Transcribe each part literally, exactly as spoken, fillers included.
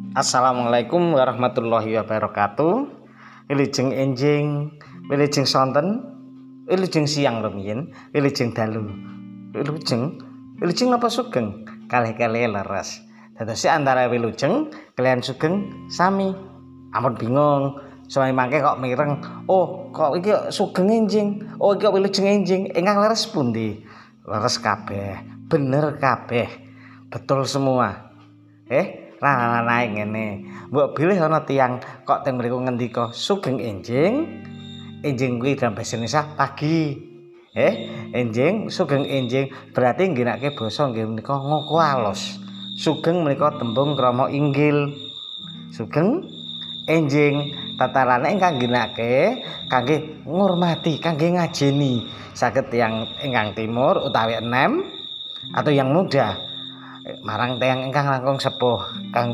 Assalamualaikum warahmatullahi wabarakatuh. Wilujeng enjing, wilujeng sonten, wilujeng siang rumiyin, wilujeng dalu. Wilujeng, wilujeng napa sugeng? Kalih-kalih leres. Dados antara wilujeng kalian sugeng sami. Ampun bingung, soalnya mangke kok mireng. Oh, kok iki sugeng enjing. Oh, iki wilujeng enjing. Ingkang leres pundi? Leres kabeh. Bener kabeh. Betul semua. Eh, rana-ranae ngene. Mbok bilih ana tiyang kok teng mriku ngendika sugeng enjing. Enjing kuwi dalam bahasa Indonesia pagi. Eh, enjing, sugeng enjing berarti ngginake basa nggih menika ngoko alus. Sugeng menika tembung krama inggil. Sugeng enjing tatarane ingkang ngginake kangge ngurmati, kangge ngajeni. Saged tiyang ingkang timur utawi enem atau yang muda. Marang tiyang ingkang langkung sepuh kang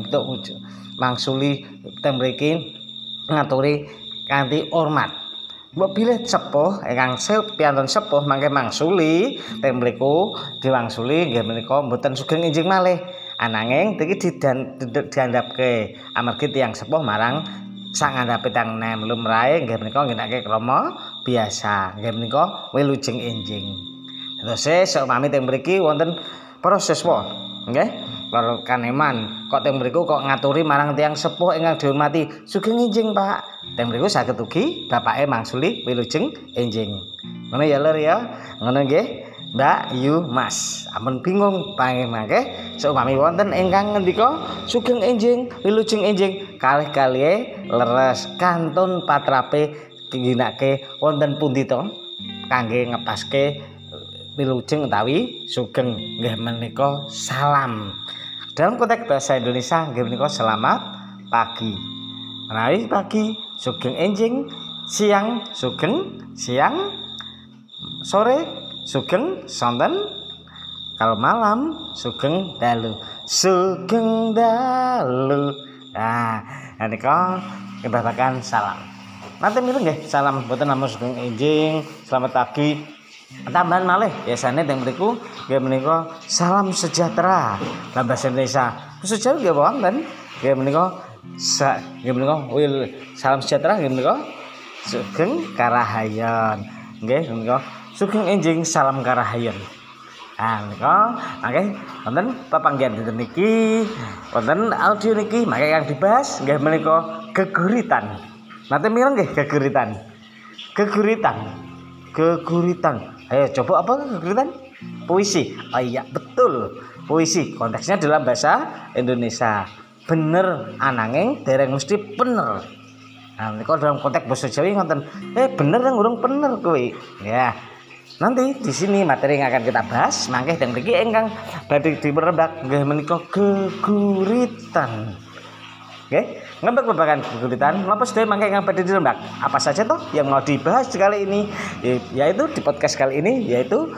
mangsuli teng mriki ngaturi kanthi hormat. Mbok bilih sepuh ingkang piantun sepuh mangke mangsuli teng mriku diwangsuli nggih menika mboten sugeng enjing malih. Ananging iki diandhapke amargi tiyang sepuh marang sak ngandhape tiyang enem lumrahe nggih menika ngginake krama biasa nggih menika wilujeng enjing. Terus sok mami teng mriki wonten para siswa nggih para kaneman kok teng mriku kok ngaturi marang tiyang sepuh ingkang dihormati sugeng enjing Pak. Teng mriku saged ugi bapake mangsuli wilujeng enjing. Ngono ya Lur ya. Ngono nggih Mbak Yu Mas. Ampun bingung pangeh-mangke seupami wonten ingkang ngendika sugeng enjing wilujeng enjing kalih-kalihe leres kantun patrape ginake wonten pundi to kangge ngepaske wilujeng utawi sugeng nggih menika salam. Dalam konteks bahasa Indonesia nggih menika selamat pagi. Menawi pagi sugeng enjing, siang sugeng siang, sore sugeng sonten, kalau malam sugeng dalu. Sugeng dalu. Nah, menika kebabakan salam. Nanti mireng nggih salam boten namung sugeng enjing, selamat pagi. Tambahan malih biasane teng mriku nggih menika salam sejahtera dalam bahasa Indonesia. Basa Jawa nggih wonten nggih menika sa nggih menika wil salam sejahtera nggih menika sugeng karahayan. Nggih menika sugeng enjing salam karahayan. Ah menika mangke wonten pepanggihan dinten niki wonten audio niki mangke kang dibahas nggih menika geguritan. Nate mireng nggih geguritan. Geguritan. Geguritan. Ayo coba apa geguritan? Puisi. Oh iya betul. Puisi konteksnya dalam bahasa Indonesia. Bener ananging dereng mesti bener. Nah, niku dalam konteks basa Jawa ngoten. Eh bener yang urung bener kuwi. Ya. Nanti di sini materi yang akan kita bahas mangke teng mriki ingkang badhe diperembak nggih menika geguritan. Oke, ngembak babagan geguritan, napa sedaya mangke ingkang badhe dirembak? Apa saja toh yang mau dibahas kali ini? Yaitu di podcast kali ini yaitu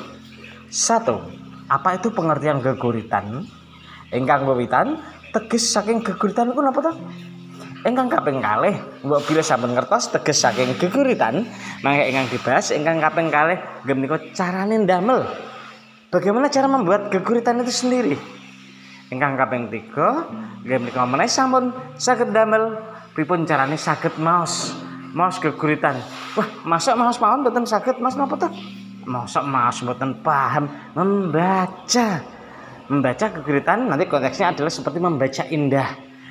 satu. Apa itu pengertian geguritan? Ingkang wiwitan teges saking geguritan iku napa toh? Ingkang kaping kalih, mbok bilih sampun ngertos teges saking geguritan, mangke ingkang dibahas ingkang kaping kalih nggih menika carane ndamel. Bagaimana cara membuat geguritan itu sendiri? Ingkang kaping tiga nggih menika menawi sampun saged damel pripun carane saged maos maos geguritan. Wah, masak maos mawon mboten saged Mas napa to? Masak maos mboten paham membaca. Membaca geguritan nanti konteksnya adalah seperti membaca indah.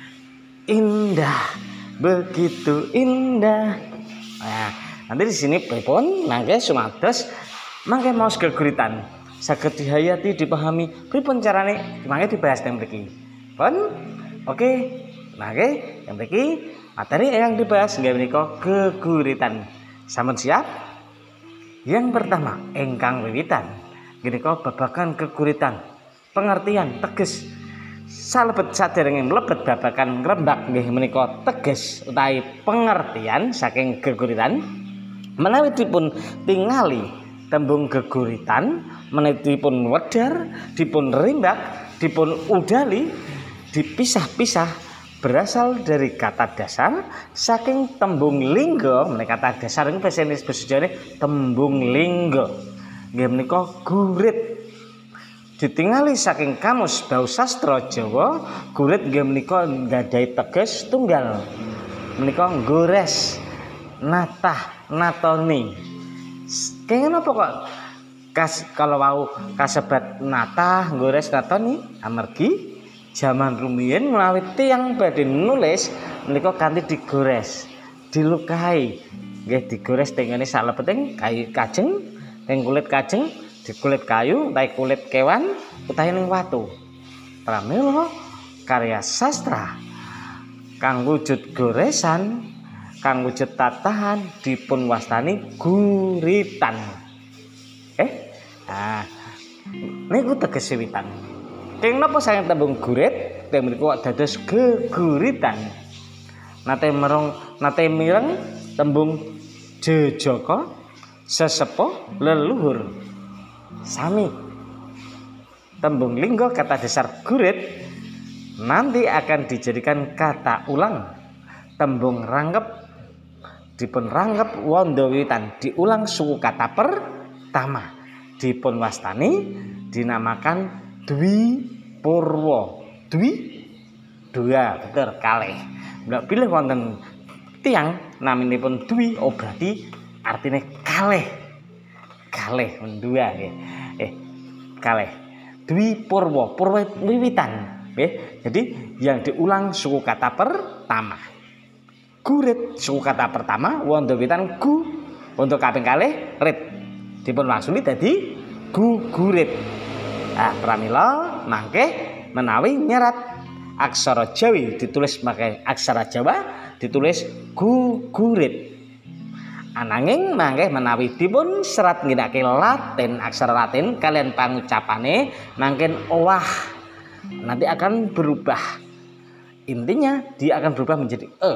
Indah, begitu indah. Nah, nanti di sini pripun mangke sumados mangke maos geguritan. Saged dihayati dipahami pripun carane mangke dibahas teng mriki. Pun oke mangke teng mriki materi yang dibahas nggih menika geguritan. Sampun siap? Yang pertama ingkang wiwitan menika babagan geguritan. Pengertian teges salebet saderenge mlebet babagan ngrembak nggih menika teges utawi pengertian saking geguritan menawi dipun tingali tembung geguritan menawi dipun wedhar, dipun rimbak, dipun udali, dipisah-pisah berasal dari kata dasar saking tembung lingga. Menika kata dasar ing basa Indonesia tembung lingga. Nggih menika gurit. ditingali saking kamus bau sastra Jawa, gurit nggih menika nggadhahi teges tunggal. Menika gores, natah, natoni. Kenging napa kok kas kalau wau kasebat natah, gores, natoni amargi jaman rumiyin menawi tiyang badhe nulis menika kanthi digores, dilukai. Nggih digores teng ngene salebeting kayu kajeng, teng kulit kajeng, di kulit kayu, utawi kulit kewan, utawi ning watu. Pramila karya sastra kang wujud goresan, kang wujud tatahan dipun wastani guritan. Eh, nah, niku teges wiwitan. Keng napa saking tembung gurit, teng mriku dados geguritan. Nate merong, nate mireng tembung jejaka, sesepuh, leluhur. Sami. Tembung lingga kata dasar gurit nanti akan dijadikan kata ulang. Tembung ranggep dipun ranggep wanda wiwitan, diulang suku kata pertama. Dipun wastani dinamakan dwi purwa. Dwi dua, betul, kalih. Bila pilih wonten tiang naminipun dwi, oh berarti artinya kalih. Kalih mendua nggih. Eh, kalih. Dwi purwa, purwa wiwitan. Nggih. Jadi yang diulang suku kata pertama. Gurit suku kata pertama, wanda wiwitan gu. Untuk kaping kalih rit. Dipun wangsuli dadi gugurit. Ah, pramila mangke menawi nyerat aksara Jawi ditulis pakai aksara Jawa ditulis gugurit. Ananging mangke menawi dipun serat ngginakaken Latin, aksara Latin kalian pangucapane mangken owah. Nanti akan berubah. Intinya dia akan berubah menjadi e.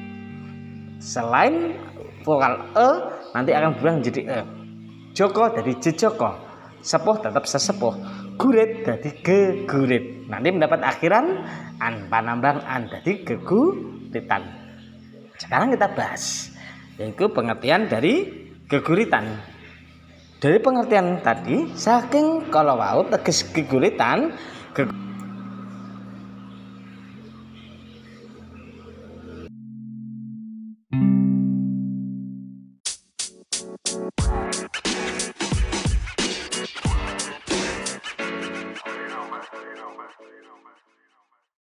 Selain vokal e nanti akan berubah menjadi e. Joko dari jejoko, sepuh tetap sesepuh, gurit dari gegurit. Nanti mendapat akhiran an panambang an dari geguritan. Sekarang kita bahas yaitu pengertian dari geguritan. Dari pengertian tadi saking kalau wau teges geguritan,